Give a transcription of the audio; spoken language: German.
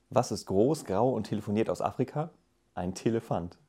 Was ist groß, grau und telefoniert aus Afrika? Ein Telefant.